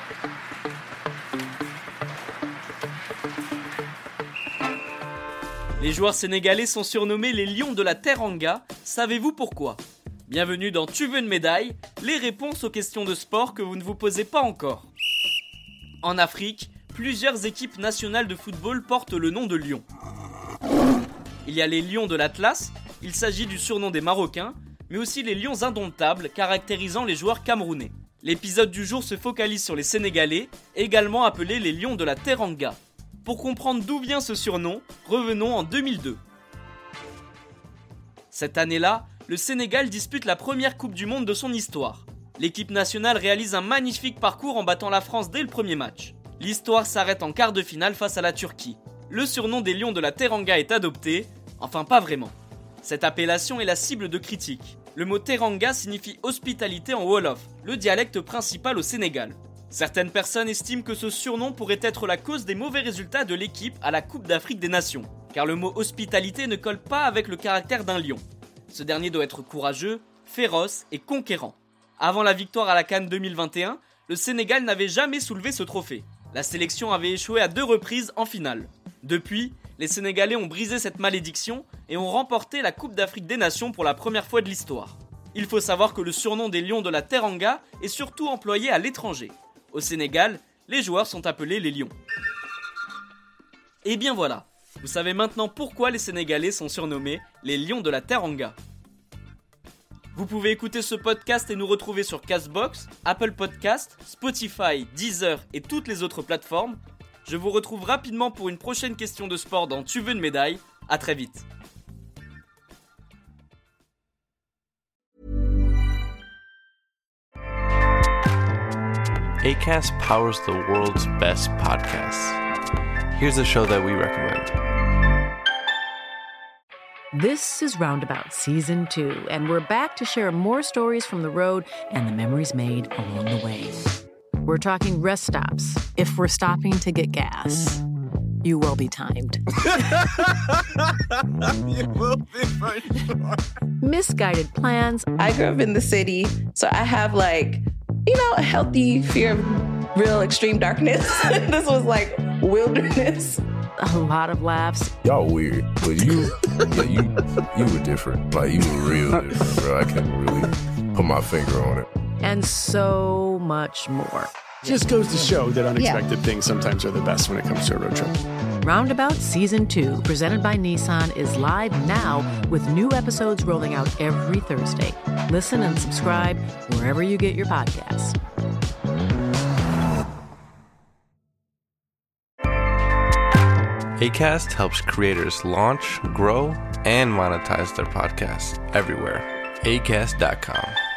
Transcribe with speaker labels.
Speaker 1: Les joueurs sénégalais sont surnommés les Lions de la Teranga, savez-vous pourquoi ? Bienvenue dans Tu veux une médaille ? Les réponses aux questions de sport que vous ne vous posez pas encore. En Afrique, plusieurs équipes nationales de football portent le nom de Lions. Il y a les Lions de l'Atlas, il s'agit du surnom des Marocains, mais aussi les Lions indomptables caractérisant les joueurs camerounais. L'épisode du jour se focalise sur les Sénégalais, également appelés les Lions de la Teranga. Pour comprendre d'où vient ce surnom, revenons en 2002. Cette année-là, le Sénégal dispute la première Coupe du Monde de son histoire. L'équipe nationale réalise un magnifique parcours en battant la France dès le premier match. L'histoire s'arrête en quart de finale face à la Turquie. Le surnom des Lions de la Teranga est adopté, enfin pas vraiment. Cette appellation est la cible de critiques. Le mot Teranga signifie hospitalité en Wolof, le dialecte principal au Sénégal. Certaines personnes estiment que ce surnom pourrait être la cause des mauvais résultats de l'équipe à la Coupe d'Afrique des Nations, car le mot hospitalité ne colle pas avec le caractère d'un lion. Ce dernier doit être courageux, féroce et conquérant. Avant la victoire à la CAN 2021, le Sénégal n'avait jamais soulevé ce trophée. La sélection avait échoué à 2 reprises en finale. Depuis, les Sénégalais ont brisé cette malédiction et ont remporté la Coupe d'Afrique des Nations pour la première fois de l'histoire. Il faut savoir que le surnom des Lions de la Teranga est surtout employé à l'étranger. Au Sénégal, les joueurs sont appelés les Lions. Et bien voilà, vous savez maintenant pourquoi les Sénégalais sont surnommés les Lions de la Teranga. Vous pouvez écouter ce podcast et nous retrouver sur Castbox, Apple Podcast, Spotify, Deezer et toutes les autres plateformes. Je vous retrouve rapidement pour une prochaine question de sport dans Tu veux une médaille. À très vite.
Speaker 2: Acast powers the world's best podcasts. Here's a show that we recommend.
Speaker 3: This is Roundabout Season 2, and we're back to share more stories from the road and the memories made along the way. We're talking rest stops, if we're stopping to get gas. You will be timed.
Speaker 4: You will be for sure.
Speaker 3: Misguided plans.
Speaker 5: I grew up in the city, so I have a healthy fear of real extreme darkness. This was like wilderness.
Speaker 3: A lot of laughs.
Speaker 4: Y'all weird, but you were different. Like, you were real different, bro. I can't really put my finger on it.
Speaker 3: And so much more.
Speaker 6: Just goes to show that unexpected things sometimes are the best when it comes to a road trip.
Speaker 3: Roundabout Season 2, presented by Nissan, is live now with new episodes rolling out every Thursday. Listen and subscribe wherever you get your podcasts.
Speaker 2: Acast helps creators launch, grow, and monetize their podcasts everywhere. Acast.com.